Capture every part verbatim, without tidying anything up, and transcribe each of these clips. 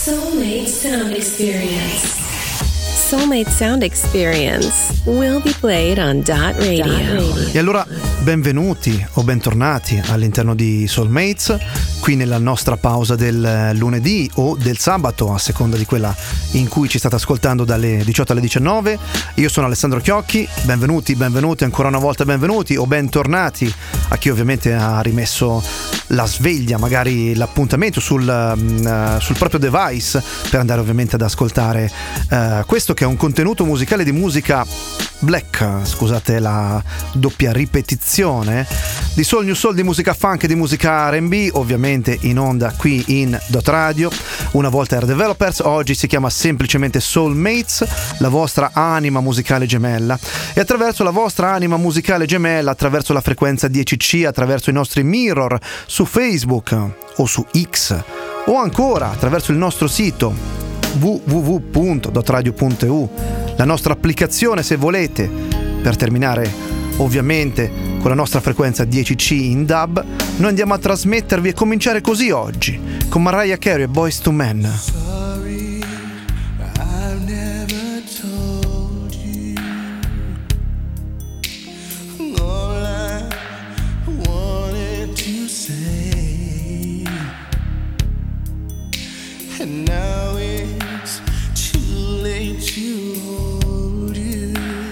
Soulmate Sound Experience. Soulmate Sound Experience will be played on Dot Radio. E allora benvenuti o bentornati all'interno di Soulmates, qui nella nostra pausa del lunedì o del sabato, a seconda di quella in cui ci state ascoltando, dalle diciotto alle diciannove. Io sono Alessandro Chiocchi, benvenuti, benvenuti, ancora una volta benvenuti o bentornati a chi ovviamente ha rimesso la sveglia, magari l'appuntamento sul, uh, sul proprio device per andare ovviamente ad ascoltare uh, questo che è un contenuto musicale di musica black, scusate la doppia ripetizione, di soul, new soul, di musica funk e di musica R and B, ovviamente in onda qui in Dot Radio. Una volta era Developers, oggi si chiama semplicemente Soulmates, la vostra anima musicale gemella, e attraverso la vostra anima musicale gemella, attraverso la frequenza dieci C, attraverso i nostri mirror su Facebook o su X, o ancora attraverso il nostro sito w w w punto dot radio punto e u, la nostra applicazione se volete, per terminare ovviamente con la nostra frequenza dieci C in D A B. Noi andiamo a trasmettervi e cominciare così oggi con Mariah Carey e Boyz two Men. Sorry, I've never told you all I wanted to say, and now it's too late to hold you,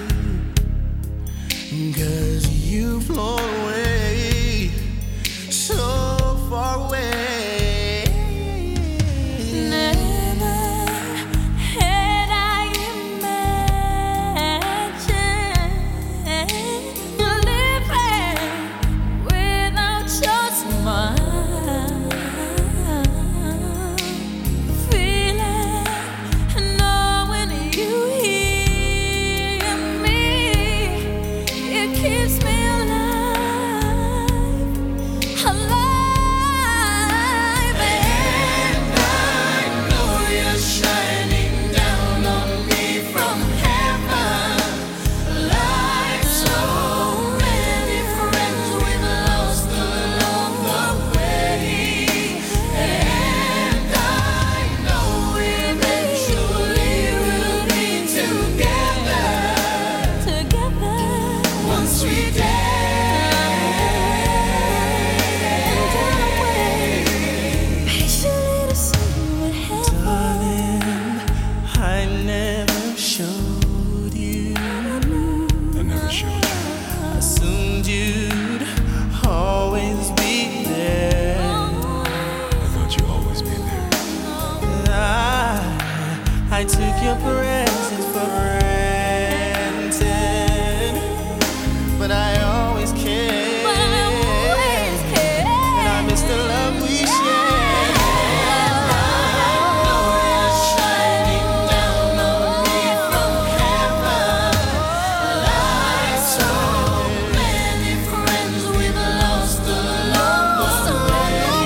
'cause you've flown away, so far away.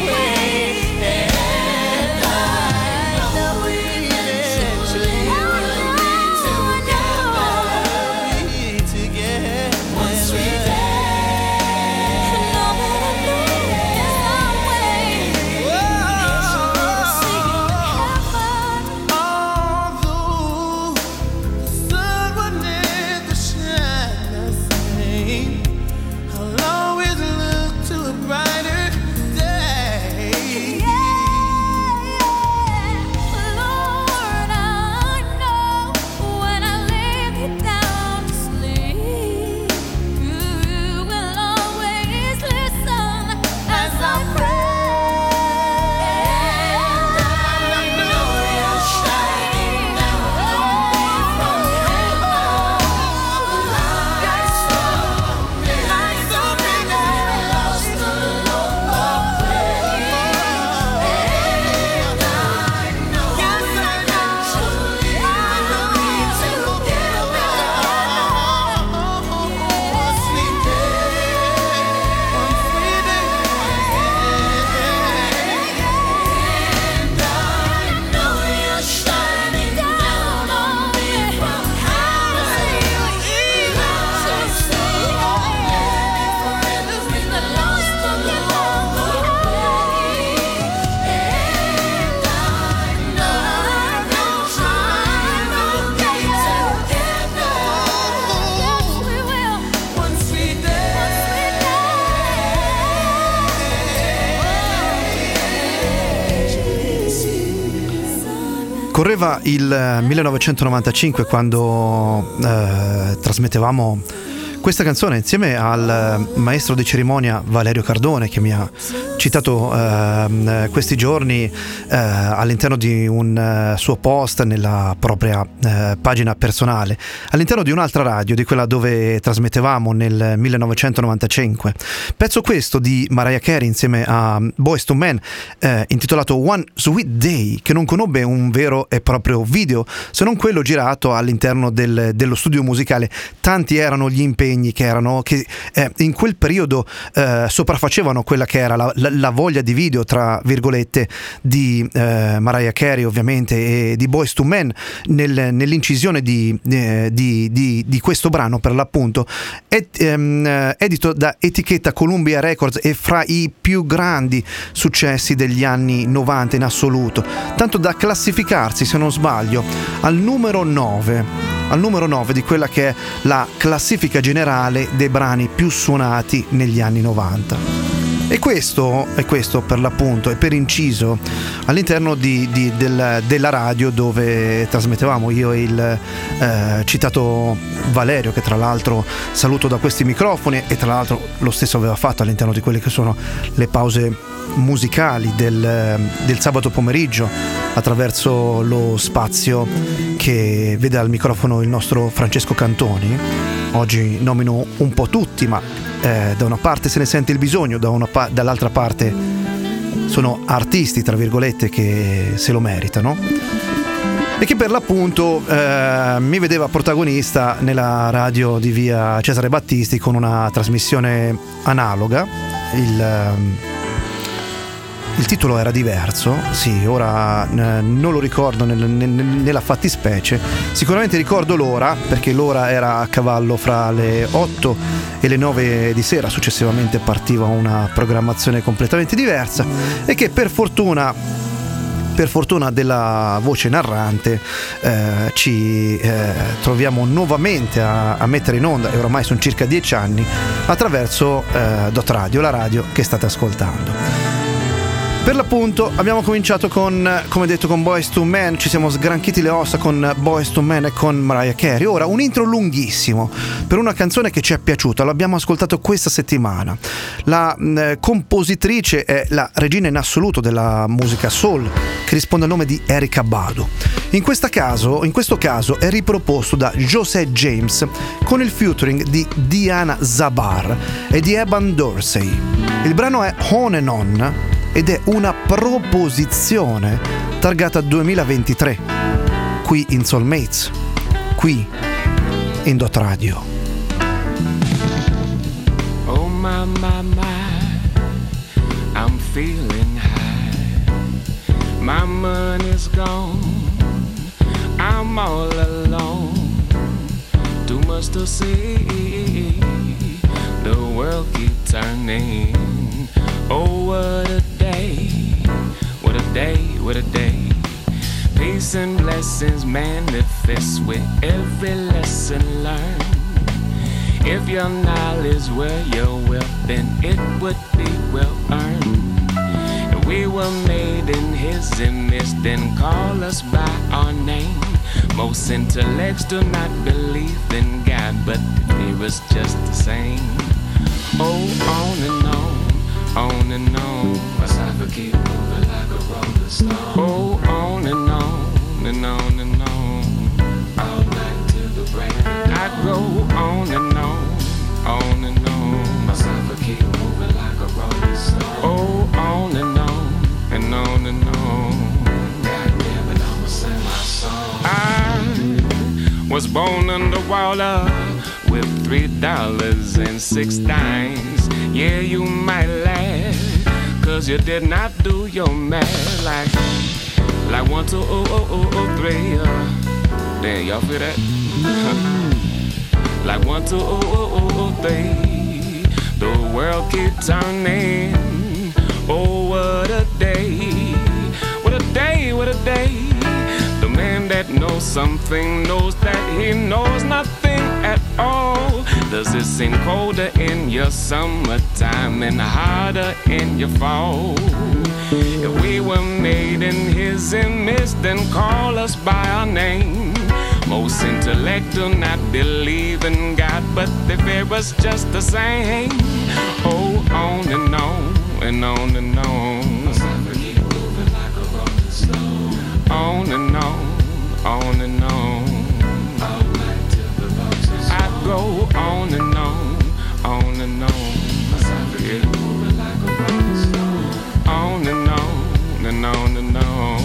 Together Correva il millenovecentonovantacinque quando eh, trasmettevamo questa canzone insieme al maestro di cerimonia Valerio Cardone, che mi ha citato eh, questi giorni eh, all'interno di un eh, suo post nella propria eh, pagina personale, all'interno di un'altra radio, di quella dove trasmettevamo nel millenovecentonovantacinque. Pezzo questo di Mariah Carey insieme a Boyz two Men, eh, intitolato One Sweet Day, che non conobbe un vero e proprio video, se non quello girato all'interno del, dello studio musicale. Tanti erano gli impegni che erano che eh, in quel periodo eh, sopraffacevano quella che era la, la, la voglia di video, tra virgolette, di eh, Mariah Carey ovviamente e di Boyz two Men nel, nell'incisione di, eh, di, di, di questo brano, per l'appunto ed, ehm, edito da etichetta Columbia Records e fra i più grandi successi degli anni novanta in assoluto, tanto da classificarsi, se non sbaglio, al numero nove al numero nove di quella che è la classifica generale dei brani più suonati negli anni novanta. E questo, e questo per l'appunto, è per inciso all'interno di, di, del, della radio dove trasmettevamo io e il eh, citato Valerio, che tra l'altro saluto da questi microfoni, e tra l'altro lo stesso aveva fatto all'interno di quelle che sono le pause musicali del, del sabato pomeriggio, attraverso lo spazio che vede al microfono il nostro Francesco Cantoni. Oggi nomino un po' tutti, ma eh, da una parte se ne sente il bisogno, da una pa- dall'altra parte sono artisti, tra virgolette, che se lo meritano e che per l'appunto eh, mi vedeva protagonista nella radio di via Cesare Battisti con una trasmissione analoga. Il Il titolo era diverso, sì, ora eh, non lo ricordo nel, nel, nella fattispecie, sicuramente ricordo l'ora, perché l'ora era a cavallo fra le otto e le nove di sera, successivamente partiva una programmazione completamente diversa e che per fortuna, per fortuna della voce narrante eh, ci eh, troviamo nuovamente a, a mettere in onda, e oramai sono circa dieci anni, attraverso eh, Dot Radio, la radio che state ascoltando. Per l'appunto abbiamo cominciato con, come detto, con Boyz two Men, ci siamo sgranchiti le ossa con Boyz two Men e con Mariah Carey. Ora un intro lunghissimo per una canzone che ci è piaciuta, l'abbiamo ascoltato questa settimana. La eh, compositrice è la regina in assoluto della musica soul, che risponde al nome di Erykah Badu. In, questa caso, in questo caso è riproposto da José James con il featuring di Diana Zabar e di Eban Dorsey. Il brano è On and On ed è una proposizione targata duemilaventitré, qui in Soulmates, qui in Dot Radio. Oh my, my, my, I'm feeling high. My money's gone, I'm all alone. Too much to see, the world keeps turning. Oh, what a day, what a day, what a day. Peace and blessings manifest with every lesson learned. If your knowledge were your wealth, then it would be well earned. If we were made in his image, then call us by our name. Most intellects do not believe in God, but fear is just the same. Oh, on and on. On and on, my cypher keep moving like a rolling stone. Oh, on and on, and on and on, all night till the break. I go on and on, on and on, my cypher keep moving like a rolling stone. Oh, on and on, and on and on. God damn it, I'ma sing my song. I was born underwater with three dollars and six dimes. Yeah, you might laugh, cause you did not do your math like, like one, two, oh, oh, oh, oh, three, uh, damn, y'all feel that? Like one, two, oh, oh, oh, oh, three, the world keep turning. Oh, what a day, what a day, what a day. The man that knows something knows that he knows nothing at all. Does it seem colder in your summertime and harder in your fall? If we were made in his image, then call us by our name. Most intellect do not believe in God, but they fear us just the same. Oh, on and on and on and on. On and on, on and on. I go on and on, on and on. Yeah. On and on and on and on.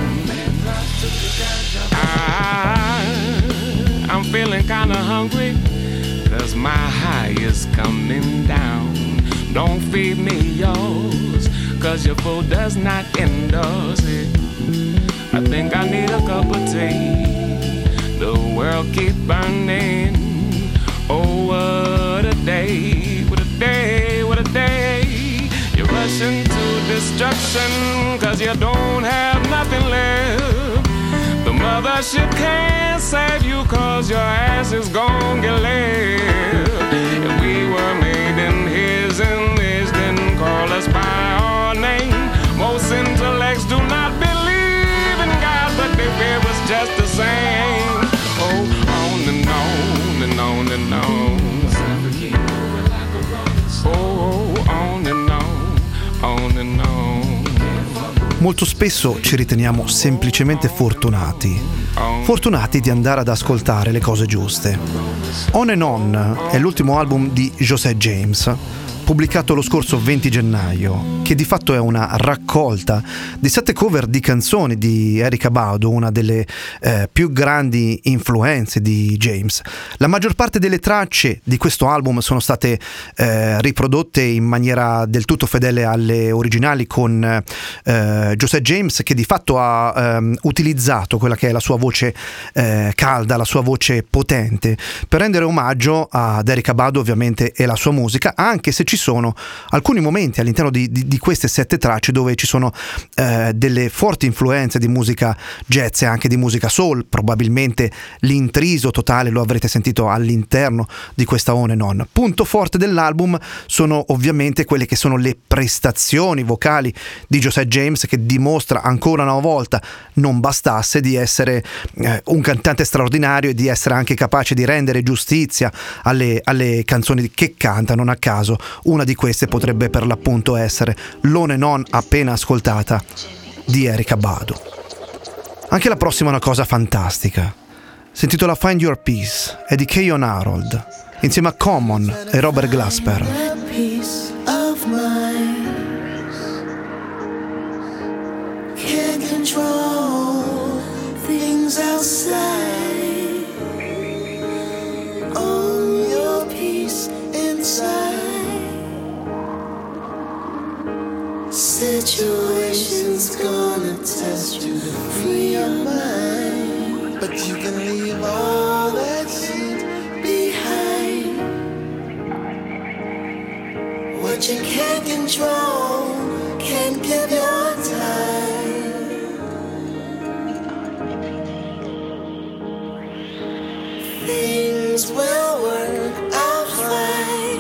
I, I'm feeling kinda hungry, cause my high is coming down. Don't feed me yours, cause your food does not endorse it. I think I need a cup of tea. The world keep burning. Oh, what a day, what a day, what a day. You're rushing to destruction, cause you don't have nothing left. The mothership can't save you, cause your ass is gon' get left. If we were made in his image, then call us by our name. Most intellects do not believe in God, but they fear us just the same. Oh, on and on and on and on. Oh, on and on, on and on. Molto spesso ci riteniamo semplicemente fortunati, fortunati di andare ad ascoltare le cose giuste. On and On è l'ultimo album di José James, pubblicato lo scorso venti gennaio, che di fatto è una raccolta di sette cover di canzoni di Erykah Badu, una delle eh, più grandi influenze di James. La maggior parte delle tracce di questo album sono state eh, riprodotte in maniera del tutto fedele alle originali, con eh, José James, che di fatto ha ehm, utilizzato quella che è la sua voce eh, calda, la sua voce potente, per rendere omaggio ad Erykah Badu ovviamente e la sua musica, anche se ci sono alcuni momenti all'interno di, di, di queste sette tracce dove ci sono eh, delle forti influenze di musica jazz e anche di musica soul. Probabilmente l'intriso totale lo avrete sentito all'interno di questa On and On. Punto forte dell'album sono ovviamente quelle che sono le prestazioni vocali di José James, che dimostra ancora una volta, non bastasse, di essere eh, un cantante straordinario e di essere anche capace di rendere giustizia alle, alle canzoni che canta. Non a caso una di queste potrebbe per l'appunto essere l'On and On appena ascoltata di Erykah Badu. Anche la prossima è una cosa fantastica. Si intitola Find Your Peace, è di Keyon Harold insieme a Common e Robert Glasper. Can't control things outside. Own your peace inside. Situation's gonna test you to free your mind, but you can leave all that shit behind. What you can't control, can't give your time. Things will work out fine.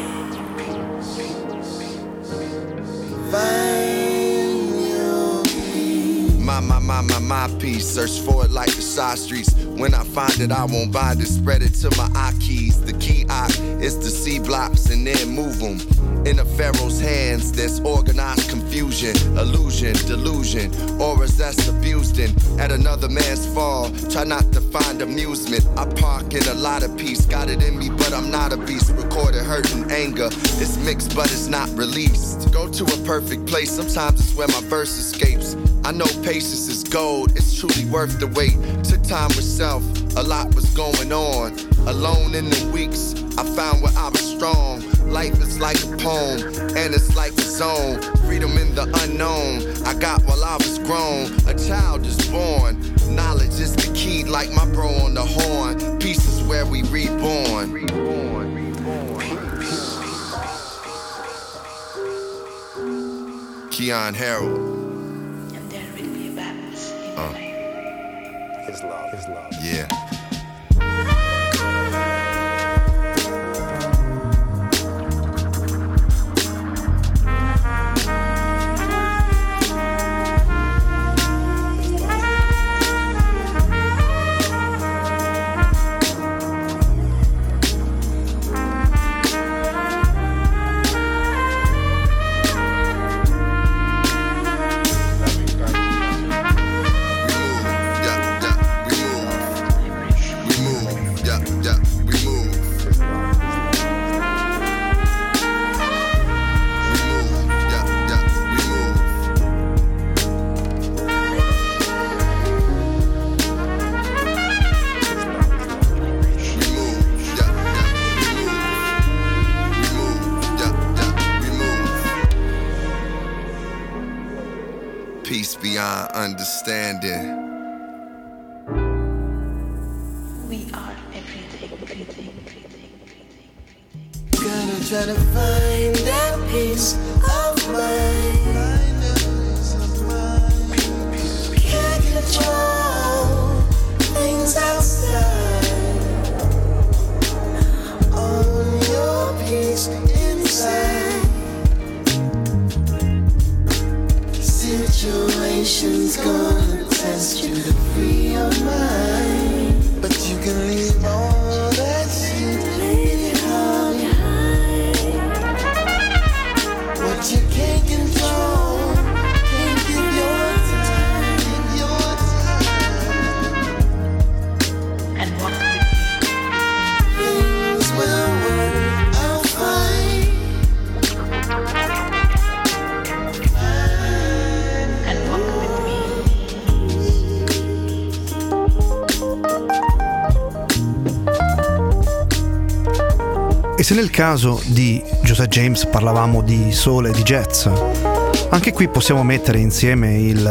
Find your peace. My, my, my, my, my peace. Search for it like the side streets. When I find it, I won't bind it. Spread it to my eye keys. The key I is to see blocks and then move them. In a pharaoh's hands, there's organized confusion, illusion, delusion, auras that's abused in. At another man's fall, try not to find amusement. I park in a lot of peace. Got it in me, but I'm not a beast. Recorded hurt and anger. It's mixed, but it's not released. Go to a perfect place. Sometimes it's where my verse escapes. I know patience is gold. It's truly worth the wait. Took time with self. A lot was going on. Alone in the weeks, I found where I was strong. Life is like a poem, and it's like a zone. Freedom in the unknown, I got while I was grown. A child is born, knowledge is the key, like my bro on the horn. Peace is where we reborn. Reborn, reborn. Keyon Harold. And there will be a balance in Uh. life. His love, his love. Yeah. understanding. We are everything, everything, everything, everything. Gotta try to find that peace of mind. Can't control things outside. Own your peace inside. Situation's gonna test you to free your mind, but you can leave all that shit, leave it all behind. What you can't control, can't give your time, give your time, and walk with me. Things will work out fine. E se nel caso di Josiah James parlavamo di soul e di jazz, anche qui possiamo mettere insieme il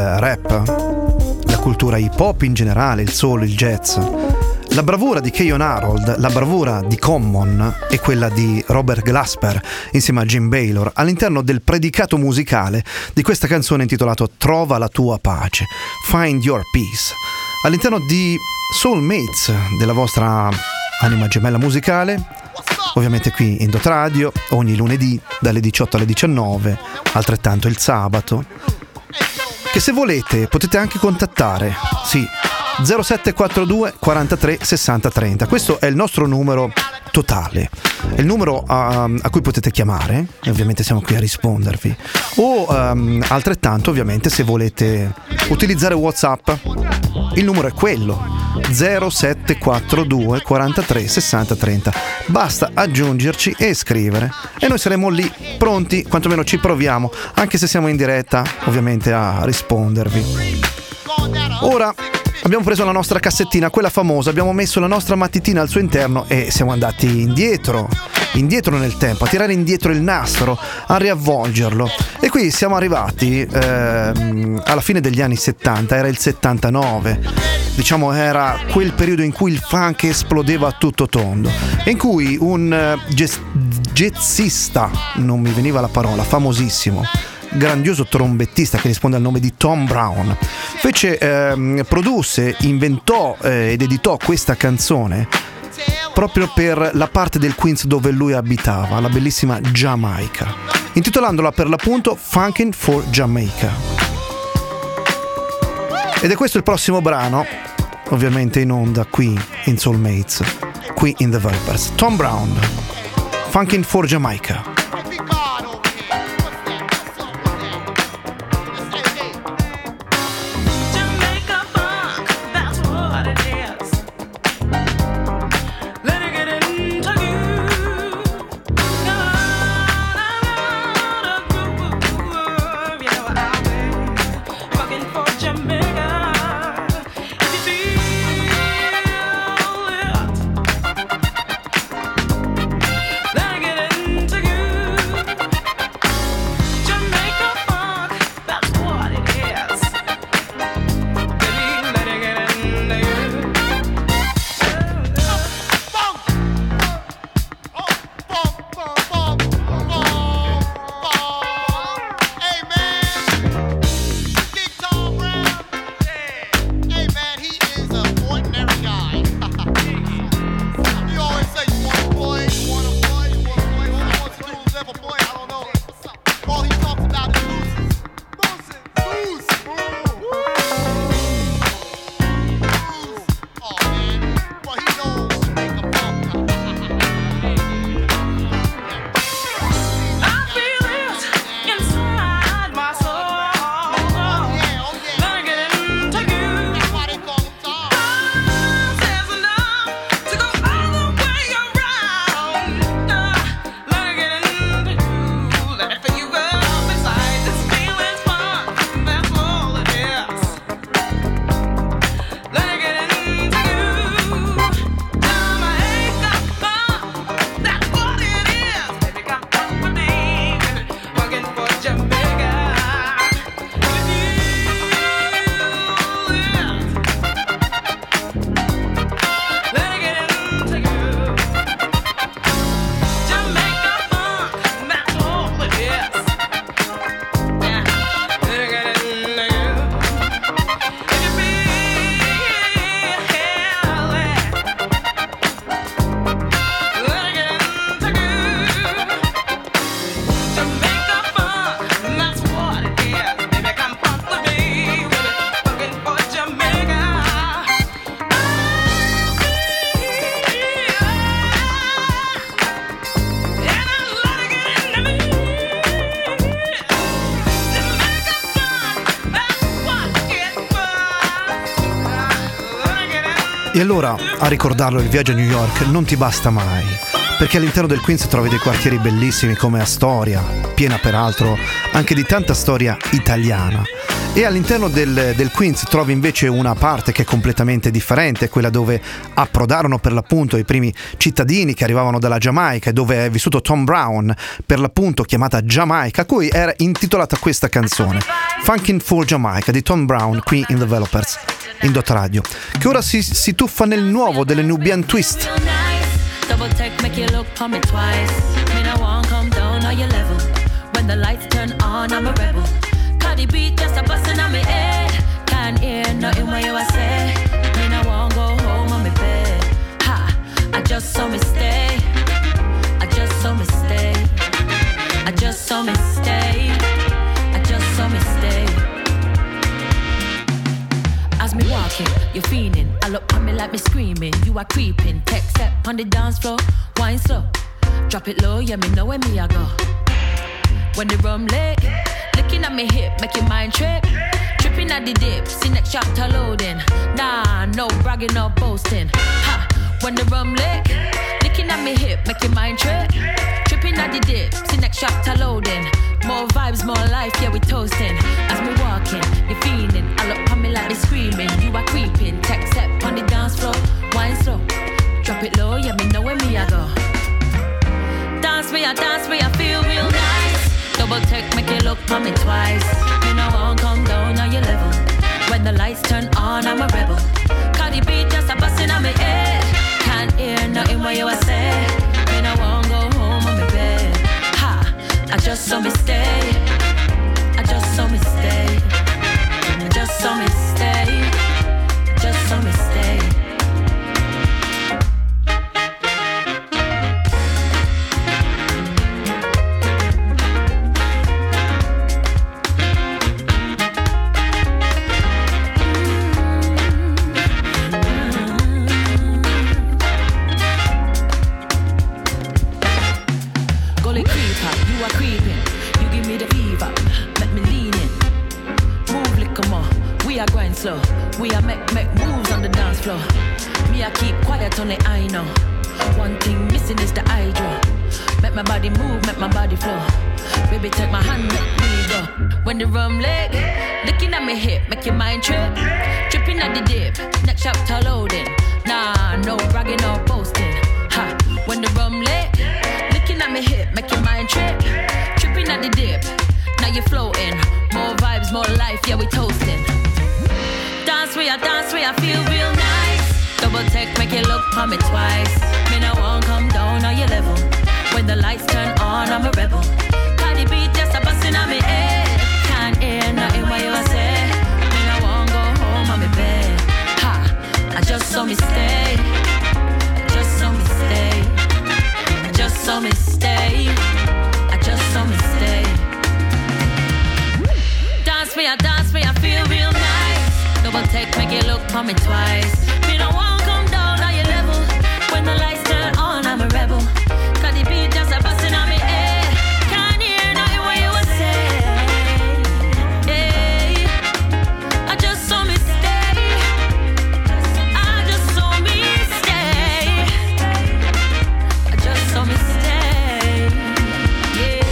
rap, la cultura hip hop in generale, il soul, il jazz, la bravura di Keyon Harold, la bravura di Common e quella di Robert Glasper insieme a Jim Baylor all'interno del predicato musicale di questa canzone intitolata Trova la tua pace, Find Your Peace, all'interno di Soulmates, della vostra anima gemella musicale, ovviamente qui in Dot Radio, ogni lunedì dalle diciotto alle diciannove, altrettanto il sabato, che se volete potete anche contattare, sì, zero sette quattro due quarantatré sessanta trenta. Questo è il nostro numero totale, è il numero a, a cui potete chiamare e ovviamente siamo qui a rispondervi, o um, altrettanto ovviamente se volete utilizzare WhatsApp il numero è quello zero sette quattro due quarantatré sessanta trenta. Basta aggiungerci e scrivere e noi saremo lì pronti, quantomeno ci proviamo, anche se siamo in diretta ovviamente, a rispondervi. Ora abbiamo preso la nostra cassettina, quella famosa, abbiamo messo la nostra matitina al suo interno e siamo andati indietro, indietro nel tempo, a tirare indietro il nastro, a riavvolgerlo. E qui siamo arrivati ehm, alla fine degli anni settanta, era il settantanove, diciamo era quel periodo in cui il funk esplodeva a tutto tondo e in cui un uh, jazz- jazzista, non mi veniva la parola, famosissimo, grandioso trombettista che risponde al nome di Tom Brown, fece, ehm, produsse, inventò eh, ed editò questa canzone proprio per la parte del Queens dove lui abitava, la bellissima Giamaica, intitolandola per l'appunto Funkin' for Jamaica. Ed è questo il prossimo brano, ovviamente in onda qui in Soulmates, qui in The Vipers. Tom Brown, Funkin' for Jamaica. To you. E allora, a ricordarlo, il viaggio a New York non ti basta mai, perché all'interno del Queens trovi dei quartieri bellissimi come Astoria, piena peraltro anche di tanta storia italiana. E all'interno del, del Queens trovi invece una parte che è completamente differente, quella dove approdarono per l'appunto i primi cittadini che arrivavano dalla Giamaica e dove è vissuto Tom Brown, per l'appunto chiamata Jamaica, a cui era intitolata questa canzone, Funkin' for Jamaica di Tom Brown, qui in Developers, in Dot Radio, che ora si, si tuffa nel nuovo delle Nubian Twist. Double take, make you look for me twice. Me no want come down on your level. When the lights turn on, I'm a rebel. Cardi beat just a bustin' on me head. Can't hear nothing what you a say. Me no want go home on me bed. Ha, I just saw me stay. I just saw me stay. I just saw me stay. I just saw me stay. As me walking, you're fiending. I look on me like me screaming. You are creeping. Tech step on the dance floor. Wine slow. Drop it low, yeah, me know where me I go. When the rum lit, looking at me hip, make your mind trip. Tripping at the dip, see next chapter loading. Nah, no bragging or boasting. Ha, when the rum lit, looking at me hip, make your mind trip. Tripping at the dip, see next chapter loading. More vibes, more life, yeah, we toasting. As me walking, you're feeling. I look on me like they screaming. You are creeping. Tech step on the dance floor. Wine slow. Drop it low, yeah, me know where me I go. Dance me, I dance me, I feel real nice. Double take, make you look on me twice. Me no want come down on your level. When the lights turn on, I'm a rebel. Cardi beat just a bustin' on me head. Can't hear nothing what you a say. Me no want go home on me bed. Ha, I just saw me stay. I just saw me stay. I just saw me stay. I just saw me stay. Slow. We are make make moves on the dance floor. Me I keep quiet on the I know. One thing missing is the hydro. Make my body move, make my body flow. Baby take my hand, make me go. When the rum leg, looking at me hip, make your mind trip. Tripping at the dip, next chapter loading. Nah, no bragging or boasting. Ha, when the rum leg, looking at me hip, make your mind trip. Tripping at the dip, now you're floating. More vibes, more life, yeah we toasting. Dance we, I dance we, I feel real nice. Double take, make you look for me twice. Me no want come down on your level. When the lights turn on, I'm a rebel. Cardi beat just a bustin' on me head. Can't hear nothing what you say. Me no want go home on me bed. Ha, I just saw me stay. I just saw me stay. I just saw me stay. I just saw me stay. Dance me, I dance me, I feel real nice. Double take, make you look for me twice. Me no want come down on your level. When the lights turn on, I'm a rebel. Cause the beat just a bustin' on me head. Can't hear nothing what you would say. Yeah. I just saw me stay. I just saw me stay. I just saw me stay. Yeah.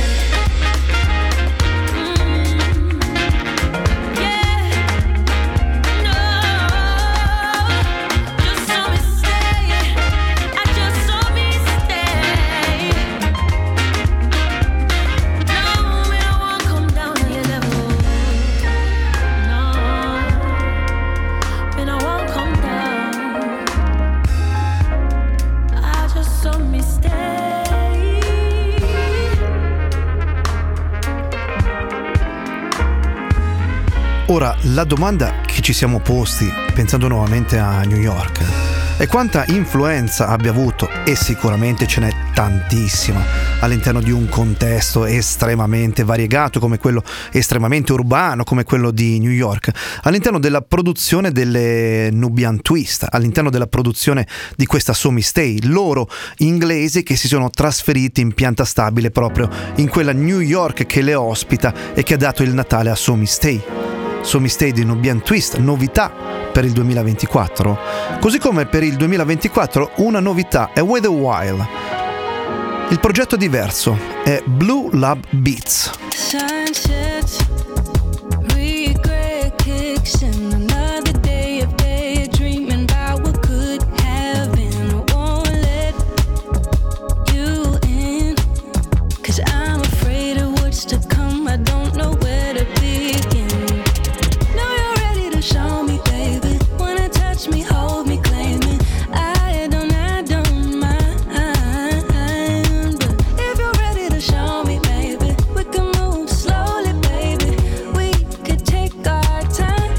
Ora, la domanda che ci siamo posti, pensando nuovamente a New York, è quanta influenza abbia avuto, e sicuramente ce n'è tantissima, all'interno di un contesto estremamente variegato come quello estremamente urbano come quello di New York, all'interno della produzione delle Nubian Twist, all'interno della produzione di questa So Me Stay, loro inglesi che si sono trasferiti in pianta stabile proprio in quella New York che le ospita e che ha dato il Natale a So Me Stay. So Me Stay di Nubian Twist, novità per il duemilaventiquattro, Così come per il duemilaventiquattro una novità è With a While. Il progetto è diverso, è Blue Lab Beats. Sunsets, regret kicks in another day of daydreaming about what could have been. I won't let you in, 'cause I'm afraid of what's to come. I don't know where to begin. Know you're ready to show me, baby. Wanna touch me, hold me, claim me. I don't, I don't mind. But if you're ready to show me, baby, we can move slowly, baby. We could take our time.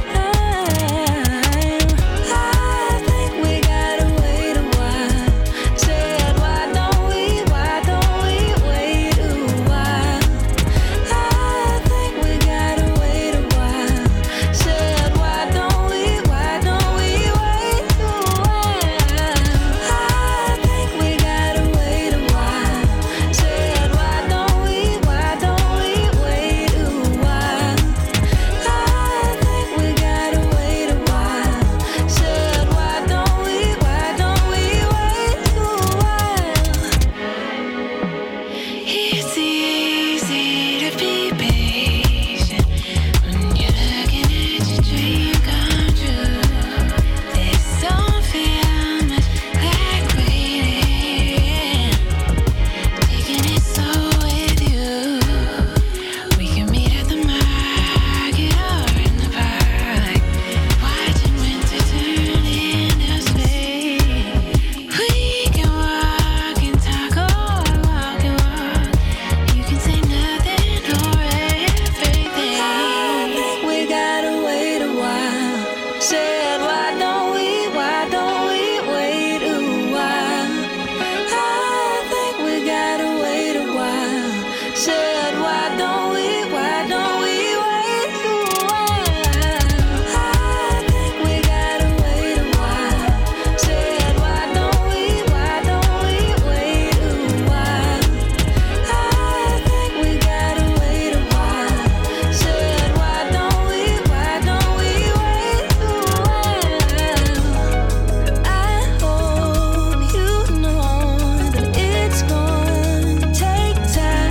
I think we gotta wait a while. Said, why don't we, why don't we wait a while? I think we gotta wait a while. Said, why don't we, why don't we wait a while? I think we gotta wait a while. Said, why don't we, why don't we wait a while? I think we gotta wait a while. Said, why don't we, why don't we wait a while? It's easy to be patient when you're looking at your dream come true. This don't feel much like waiting. Taking it slow with you. We can meet at the market or in the park, watching winter turn into spring. We can walk and talk or walk and walk. You can say nothing or everything. I think we gotta wait a while. Said, why don't we, why don't we wait a while? I think we gotta wait a while. Said, why don't we, why don't we wait a while? I think we gotta wait a while. Said, why don't we, why don't we wait a while? I think we gotta wait a while. Said, why don't we, why don't we wait a while? I hope you know that it's gonna take time.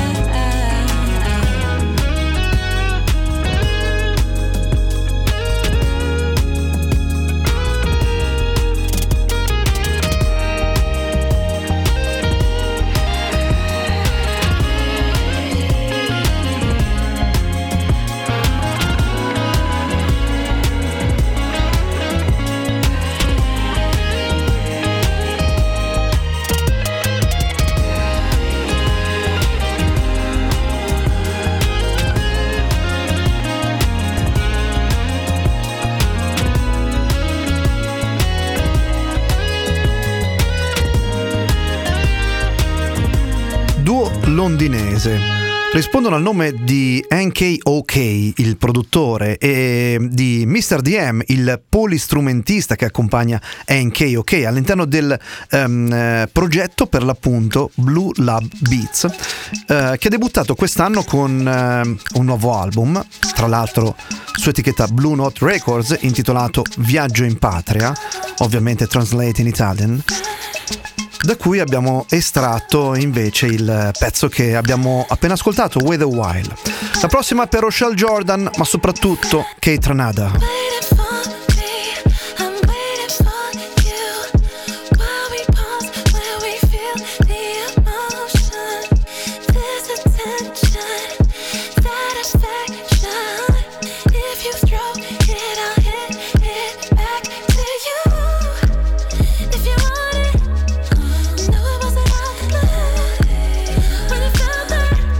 Duo londinese. Rispondono al nome di N K O K, il produttore, e di mister D M, il polistrumentista che accompagna N K O K all'interno del um, progetto, per l'appunto Blue Lab Beats, uh, che ha debuttato quest'anno con uh, un nuovo album, tra l'altro su etichetta Blue Note Records, intitolato Viaggio in Patria, ovviamente translate in Italian, da cui abbiamo estratto invece il pezzo che abbiamo appena ascoltato, With a While. La prossima per Rochelle Jordan, ma soprattutto Kate Ranada. Waiting for me, I'm waiting for you. While we pause, where we feel the emotion, this attention, satisfaction. If you throw it, I'll hit it back to you. If you want it, know it wasn't out loud. When it felt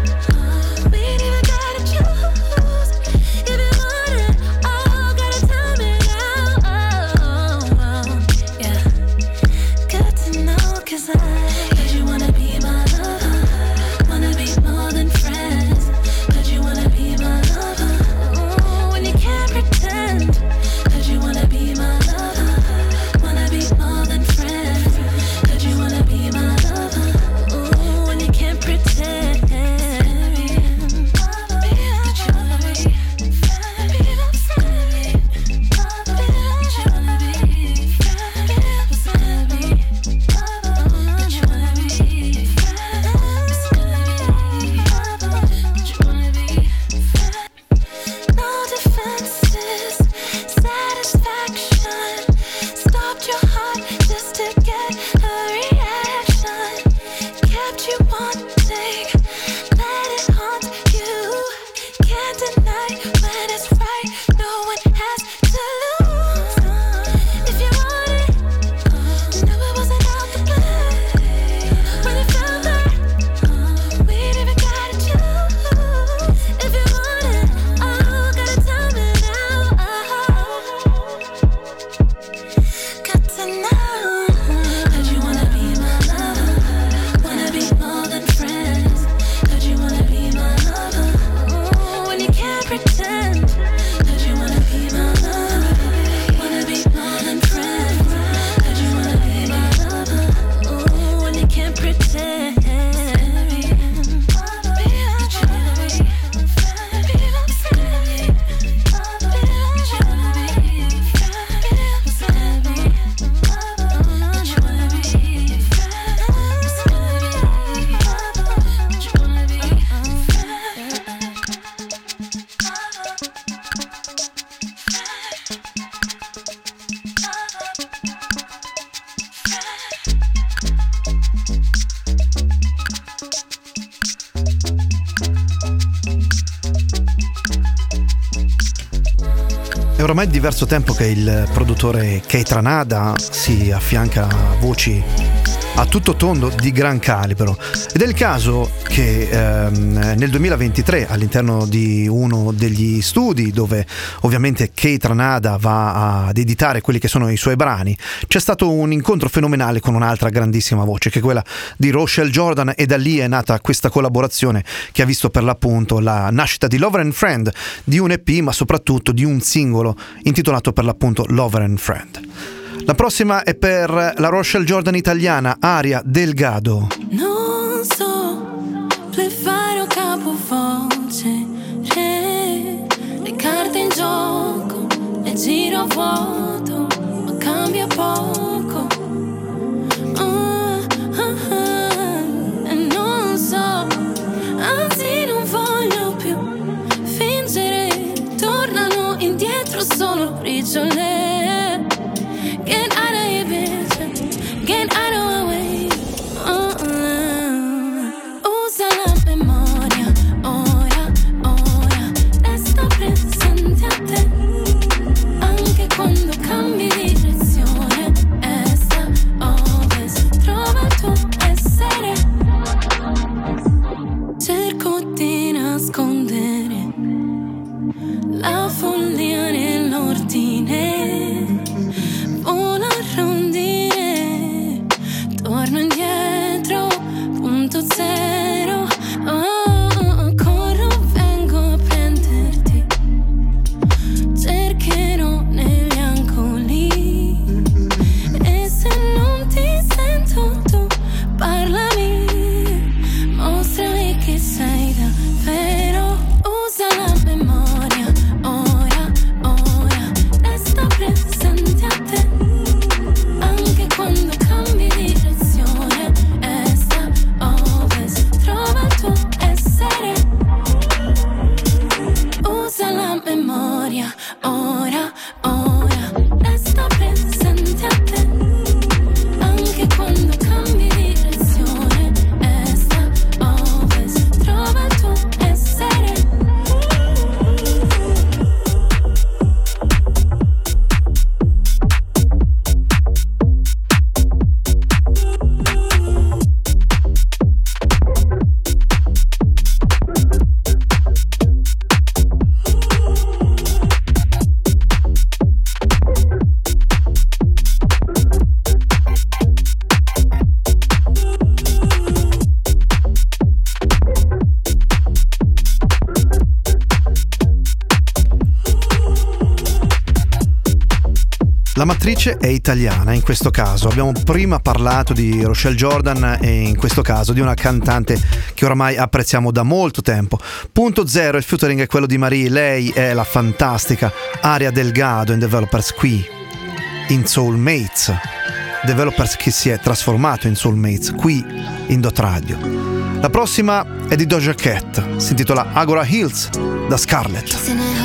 like we ain't even gotta choose. If you want it, oh, gotta tell ormai diverso tempo che il produttore Keith Ranada si affianca a voci a tutto tondo di gran calibro, ed è il caso che ehm, nel duemilaventitré, all'interno di uno degli studi dove ovviamente Keith Ranada va ad editare quelli che sono i suoi brani, c'è stato un incontro fenomenale con un'altra grandissima voce, che è quella di Rochelle Jordan, e da lì è nata questa collaborazione che ha visto per l'appunto la nascita di Lover and Friend, di un E P ma soprattutto di un singolo intitolato per l'appunto Lover and Friend. La prossima è per la Rochelle Jordan italiana, Aria Delgado. Non so fare o capovoce, re, le carte in gioco, le giro a vuoto, ma cambia poco. Ah, ah, ah, e non so, anzi non voglio più fingere, tornano indietro solo briciole. Get out of here, bitch. Get out of my way. Uh-uh. Usa la memoria, ora, ora. Resta presente a te. Anche quando cambi direzione. Est, ovest, trova il tuo essere. Cerco di nascondere la follia nell'ordine. Una rondine, torno indietro, punto zero. Oh, corro, vengo a prenderti. Cercherò negli angoli. E se non ti sento tu, parlami. Mostrami che sei davvero. Usa la memoria, ora, ora. Resta presente a te. Anche quando cambi direzione, est, ovest, trova il tuo essere. Usa la memoria, ora, ora, resta presente a te. Anche quando cambi direzione, est, ovest, trova il tuo essere. La matrice è italiana in questo caso. Abbiamo prima parlato di Rochelle Jordan e in questo caso di una cantante che oramai apprezziamo da molto tempo. Punto zero, il featuring è quello di Marie, lei è la fantastica Aria Delgado in Developers qui in Soulmates. Developers che si è trasformato in Soulmates qui in Dot Radio. La prossima è di Doja Cat, si intitola Agora Hills da Scarlett.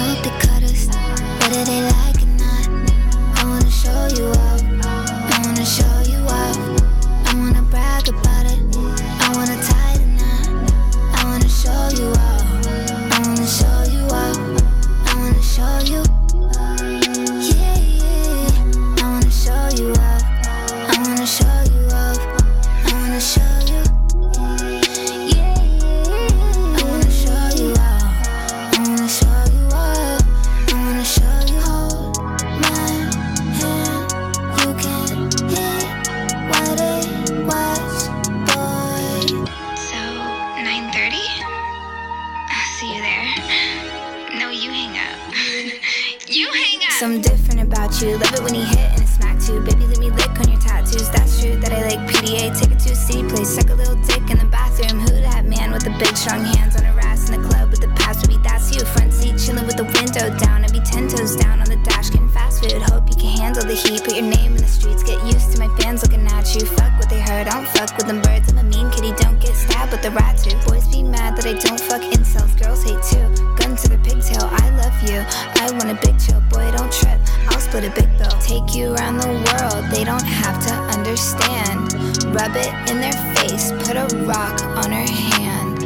You up, I wanna show you up. I wanna brag about it. I wanna tie the knot. I wanna show you up. I wanna show you up. I wanna show you. Yeah, yeah. I wanna show you up. I wanna show you up. I wanna show you. Yeah, yeah. I wanna show you up. I wanna show you up. I wanna show you. Hold my hand. You can hear what it was, boy. So, nine thirty? I'll see you there. No, you hang up. You hang up! Something different about you. Love it when you hit and it smack too. Baby, let me lick on your tattoos. That's true that I like P D A. Take it to a city place. Suck a little dick in the bathroom. Who that man with the big strong hands on her ass in the club with the past? Baby, that's you. Front seat chilling with the window down. I'd be ten toes down on the dash getting fast food. Hope you can handle the heat. Put your name in the streets. Get used to my fans looking at you. Fuck what they heard. I don't fuck with them birds. I'm a mean kitty. Don't get stabbed with the rat too. Boys be mad that I don't fuck incels. Girls hate too. Gun to the pigtail. I love you. I want a big chill. Boy, don't trip. I'll split a big bill. Take you around the world. They don't have to understand. Rub it in their face. Put a rock on her hand.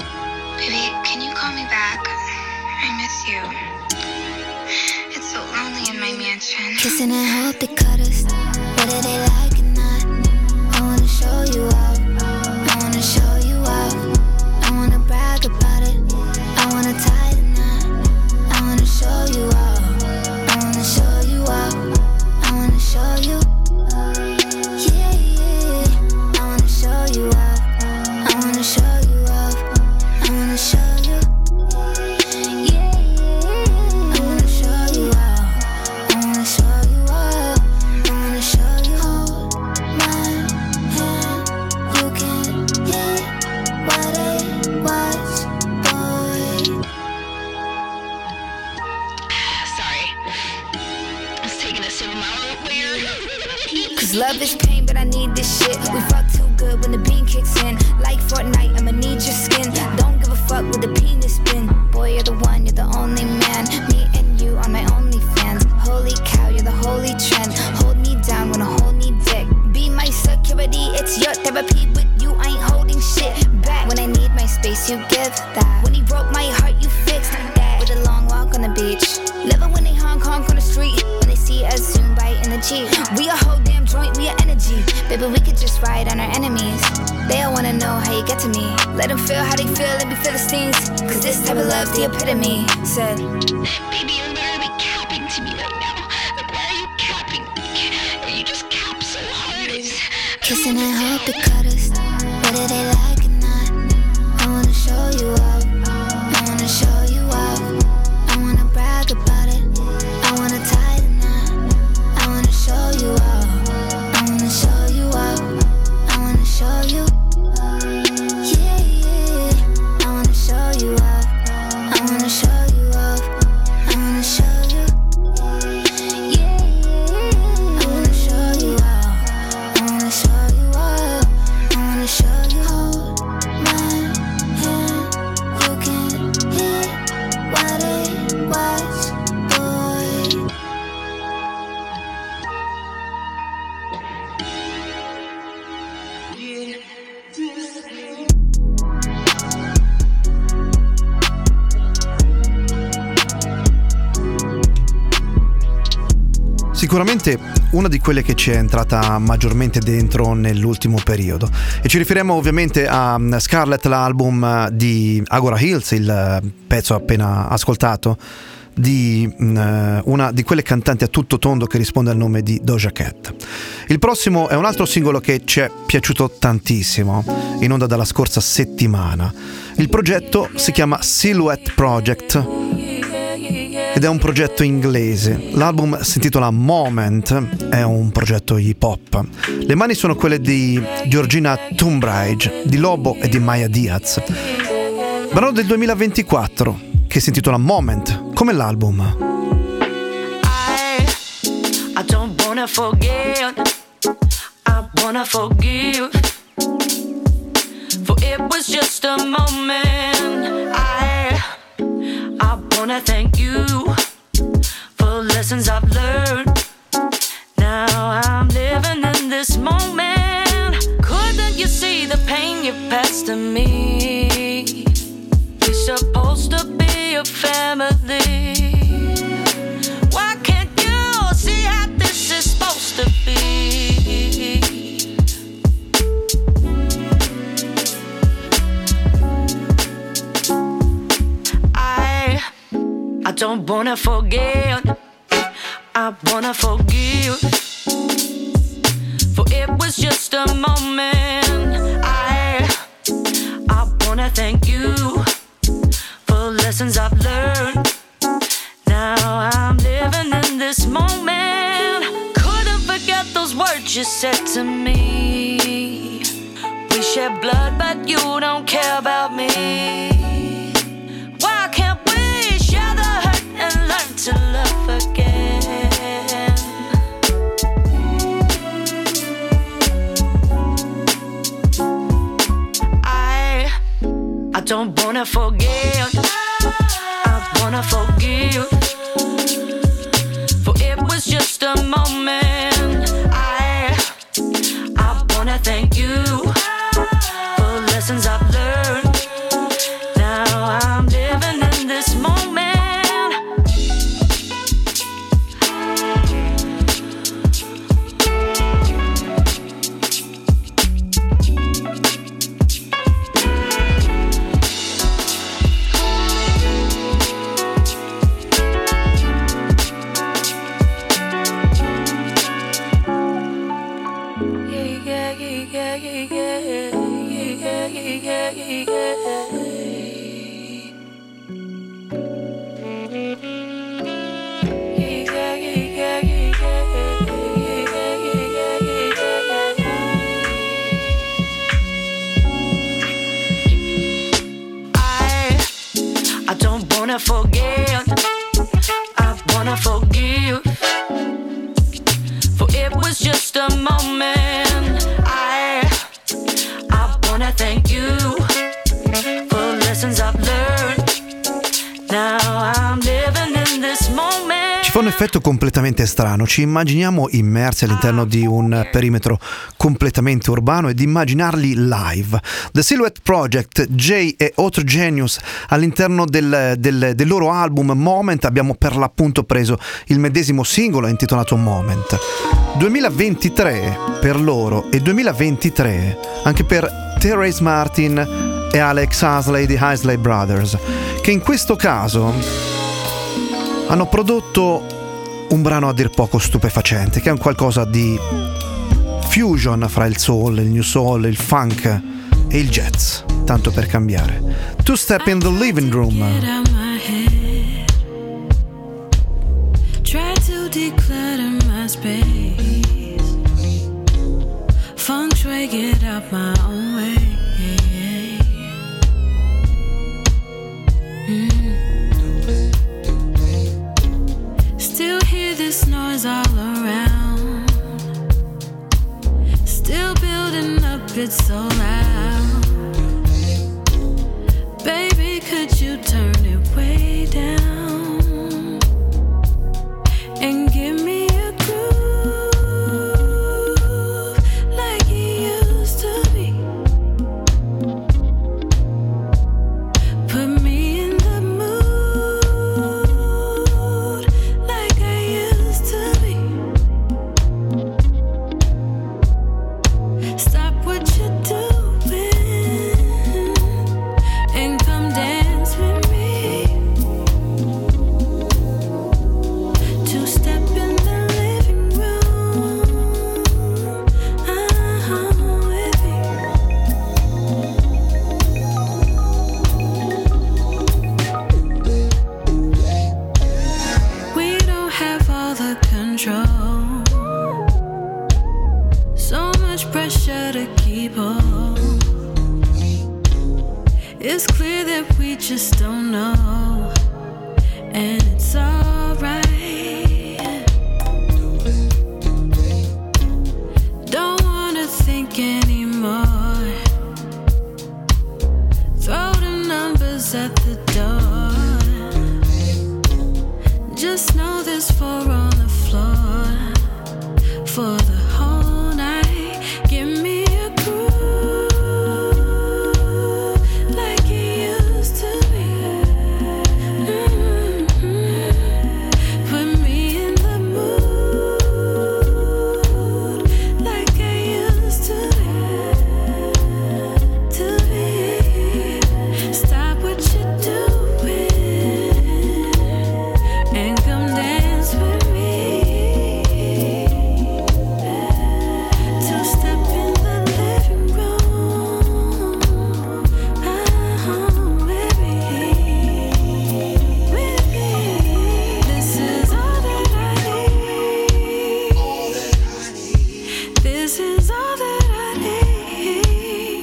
Baby, can you call me back? I miss you. It's so lonely mansion. Kissing and hope they cut us, whether they like it or not. I wanna show you off, I wanna show you off. I wanna brag about it, I wanna tie the knot. I wanna show you off, I wanna show you off. I wanna show you, yeah, yeah. I wanna show you off, I wanna show you off. I wanna show you, yeah, yeah. I wanna show you off, I wanna show you off. I wanna show you. Hold my hand, you can hit what it was, boy. Sorry. I was taking a sip of my root beer. Cause love is pain, but I need this shit. We fuck too good when the bean kicks in. Like Fortnite, I'ma need your skin. Don't give a fuck with the penis spin. Boy, you're the one, you're the only man. Me and you are my only fans. Holy cow, you're the holy trend. Hold me down, wanna hold me dick. Be my security, it's your therapy. With you, I ain't holding shit back. When I need my space, you give that. When he broke my heart, you fixed that. With a long walk on the beach. Living when they Hong Kong on the street. When they see us soon bite in the Jeep. We a whole damn joint, we a energy. Baby, we could just ride on our enemies. They all wanna know how you get to me. Let them feel how they feel and be Philistines. Cause this type of love's the epitome. Said, Baby, you're literally capping to me right now. Like, why are you capping? You just cap so hard. It's... kissing and hope they cut us, whether they like it or not. I wanna show you off, I wanna show you off. I wanna brag about it, I wanna tie the knot. I wanna show you off, I wanna show you off. I wanna show you, yeah, yeah. I wanna show you off, I wanna show you off. I wanna show you, yeah, yeah. I wanna show you off, I wanna show you off. I wanna show you. Hold my hand, you can hit what it was, boy. Sicuramente una di quelle che ci è entrata maggiormente dentro nell'ultimo periodo, e ci riferiamo ovviamente a Scarlet, l'album di Agora Hills, il pezzo appena ascoltato di uh, una di quelle cantanti a tutto tondo che risponde al nome di Doja Cat. Il prossimo è un altro singolo che ci è piaciuto tantissimo, in onda dalla scorsa settimana. Il progetto si chiama Silhouette Project ed è un progetto inglese. L'album si intitola Moment, è un progetto hip hop. Le mani sono quelle di Georgina Tunbridge, di Lobo e di Maya Diaz. Brano del duemilaventiquattro che si intitola Moment, come l'album. I, I don't wanna forget, I wanna forgive, for it was just a moment. I, I wanna thank you for lessons I've learned. Now I'm living in this moment. Couldn't you see the pain you passed to me? We're supposed to be a family. Why can't you see how this is supposed to be? I, I don't wanna forget, I wanna forgive, for it was just a moment. I, I wanna thank you for lessons I've learned. Now I'm living in this moment. Couldn't forget those words you said to me. We shed blood, but you don't care about me. Why can't we share the hurt and learn to love again? I, I don't wanna forget, I wanna forgive, for it was just a moment. I, I wanna thank you for lessons I've learned. Now I'm living in this moment. I don't wanna forget, I wanna forgive. For it was just a moment. I, I wanna thank you for lessons I've learned. Now I'm living in this moment. Ci fa un effetto completamente strano, ci immaginiamo immersi all'interno di un perimetro completamente urbano ed immaginarli live. The Silhouette Project, Jay e Otto Genius all'interno del, del, del loro album Moment abbiamo per l'appunto preso il medesimo singolo intitolato Moment. duemilaventitré per loro e duemilaventitré anche per Therese Martin e Alex Hasley di Hasley Brothers, che in questo caso hanno prodotto un brano a dir poco stupefacente, che è un qualcosa di fusion fra il soul, il new soul, il funk e il jazz, tanto per cambiare. Two Step in the Living Room. Try to declutter my space. Feng shui, get out my own way. Mm. Still hear this noise all around. Still building up, it's so loud. Baby, could you turn it way down and give me a groove like it used to be? Put me in the mood like I used to be. Stop what you're doing and come dance with me. Two step in the living room, uh-huh, with me. We don't have all the control. So much pressure to keep on. It's clear that we just don't know, and it's alright. Don't wanna think anymore. Throw the numbers at the door. Just know there's four on the floor for the whole night. Give me a groove like it used to be. Mm-hmm. Put me in the mood like I used to be. To be. Stop what you're doing and come dance with me. Two step in the living room, uh-huh, with me, with me. This is all that I need. This is all that I need.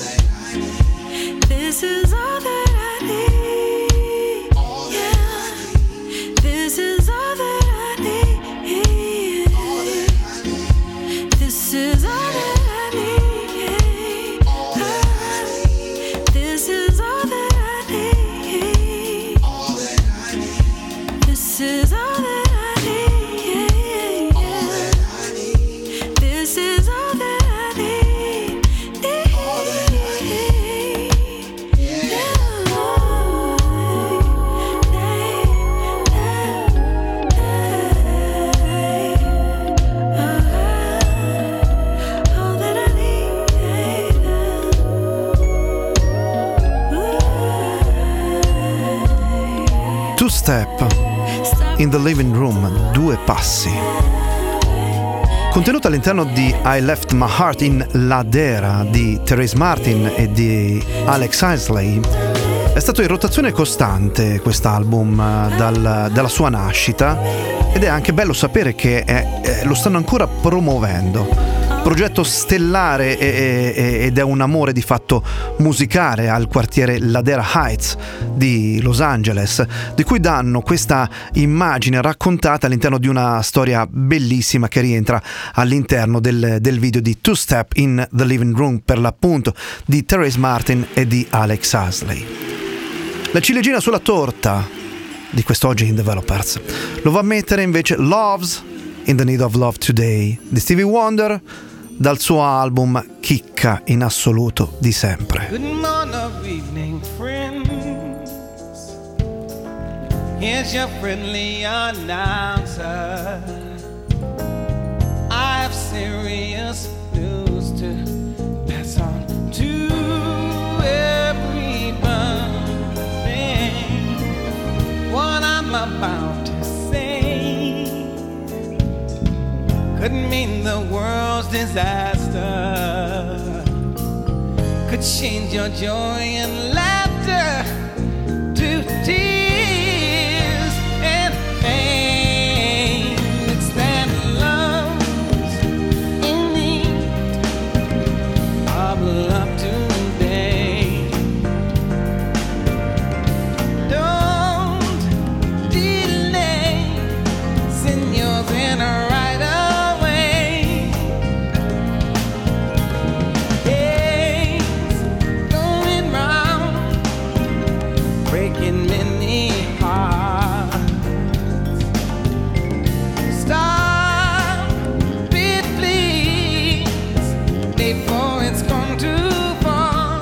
This is all that I need. Yeah. This is all that I need. This is all that I need. This is all that I need. This is all that I need. This is all that I need. All that I need. Two Step in the Living Room, due passi. Contenuta all'interno di I Left My Heart in Ladera di Therese Martin e di Alex Isley, è stato in rotazione costante quest'album dal, dalla sua nascita, ed è anche bello sapere che è, è, lo stanno ancora promuovendo. Progetto stellare e, e, ed è un amore di fatto musicale al quartiere Ladera Heights di Los Angeles, di cui danno questa immagine raccontata all'interno di una storia bellissima che rientra all'interno del, del video di Two Step in the Living Room, per l'appunto, di Therese Martin e di Alex Isley. La ciliegina sulla torta di quest'oggi in Developers lo va a mettere invece Love's in the Need of Love Today di Stevie Wonder, dal suo album Chicca in assoluto di sempre. Good morning, evening, friends. Here's your friendly announcer. I have serious news to pass on to everybody. What I'm about to say could mean the world's disaster, could change your joy and laughter to tears and pain. It's that love's in need of love today. Don't delay, send yours in a right away. Days going round, breaking many hearts. Stop it, please, before it's gone too far.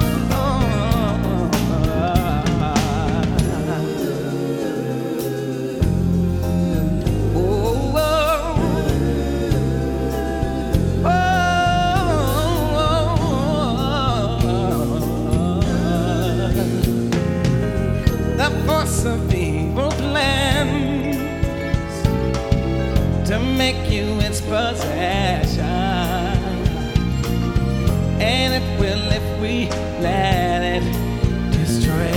Oh, oh, the force of evil plans to make you its possession, and it will if we let it destroy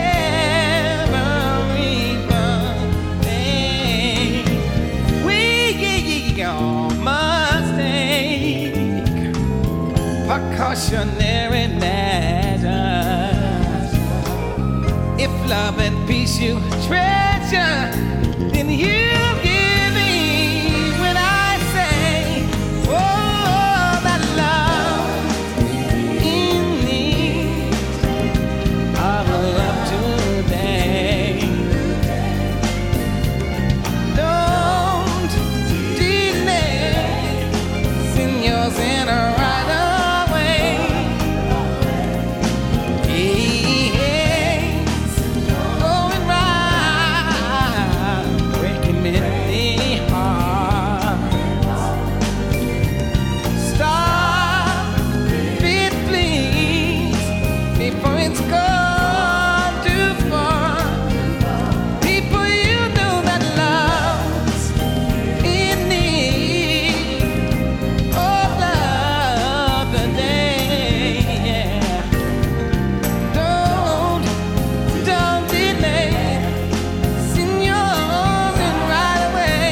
everything. We all must take precautionary measures. If love and peace you treasure, then you give me when I say, oh, that love in need of love today. Don't delay, send yours in a right away. Yes, going round, breaking many hearts. Stop it, please, before it's gone too far. People, you know that love's in need of love today. Yeah. Don't, don't delay, send yours in right away.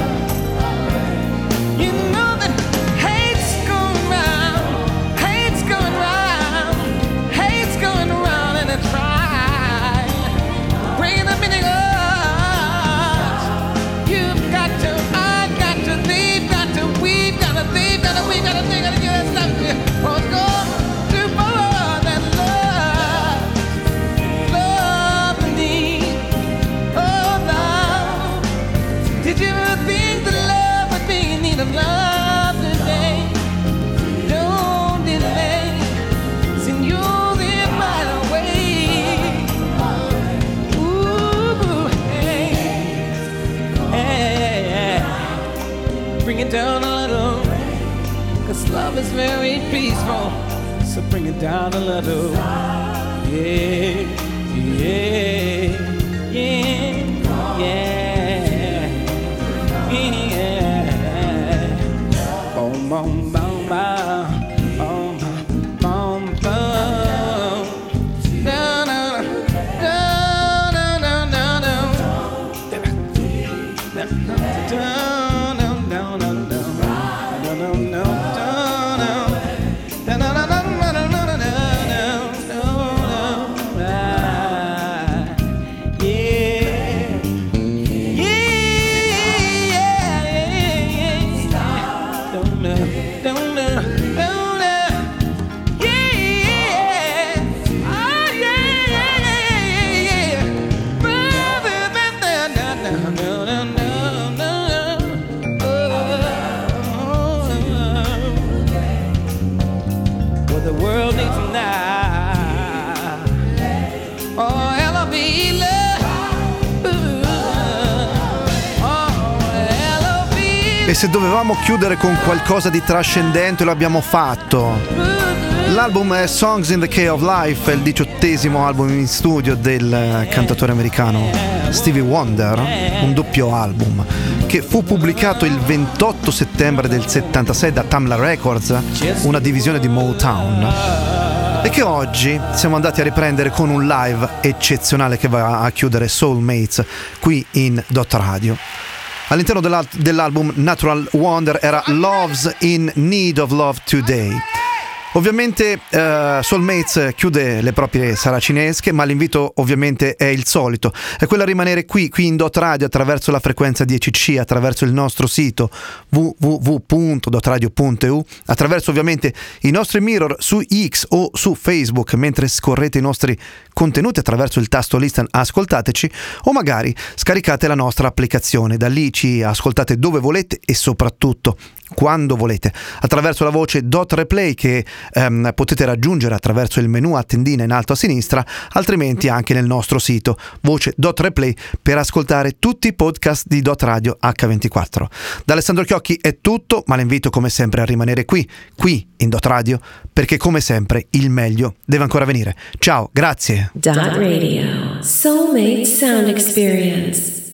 You know that hate's going round, hate's going round, hate's going round, and it's right. Bringing the meaning us. You've got to, I got to, they've got to, we've got to, they've got to, we've got to, they got to get us stuff. Oh, it's gone too far, that love, love indeed. Oh, love. Did you ever think that love would be in need of love today? Don't delay, send yours in right away. Ooh, hey, hey, hey. Bring it down a little, 'cause love is very peaceful. So bring it down a little. Yeah, yeah, yeah, yeah, yeah. boom, boom, boom, boom, boom, boom, boom. No, no, no, no, no, no, E se dovevamo chiudere con qualcosa di trascendente lo abbiamo fatto. L'album è Songs in the Key of Life, è il diciottesimo album in studio del cantautore americano Stevie Wonder, un doppio album che fu pubblicato il ventotto settembre del settantasei da Tamla Records, una divisione di Motown, e che oggi siamo andati a riprendere con un live eccezionale che va a chiudere Soulmates qui in Dot Radio. All'interno dell'al- dell'album Natural Wonder era Love's in Need of Love Today. Ovviamente uh, Soulmates chiude le proprie saracinesche, ma l'invito ovviamente è il solito, è quello a rimanere qui, qui in Dot Radio, attraverso la frequenza dieci C, attraverso il nostro sito w w w punto dot radio punto e u, attraverso ovviamente i nostri mirror su X o su Facebook, mentre scorrete i nostri contenuti attraverso il tasto listen ascoltateci, o magari scaricate la nostra applicazione, da lì ci ascoltate dove volete e soprattutto quando volete, attraverso la voce Dot Replay che ehm, potete raggiungere attraverso il menu a tendina in alto a sinistra, altrimenti anche nel nostro sito voce Dot Replay per ascoltare tutti i podcast di Dot Radio acca ventiquattro. Da Alessandro Chiocchi è tutto, ma l'invito come sempre a rimanere qui, qui in Dot Radio, perché come sempre il meglio deve ancora venire. Ciao, grazie. Dot Radio. Soulmate Sound Experience.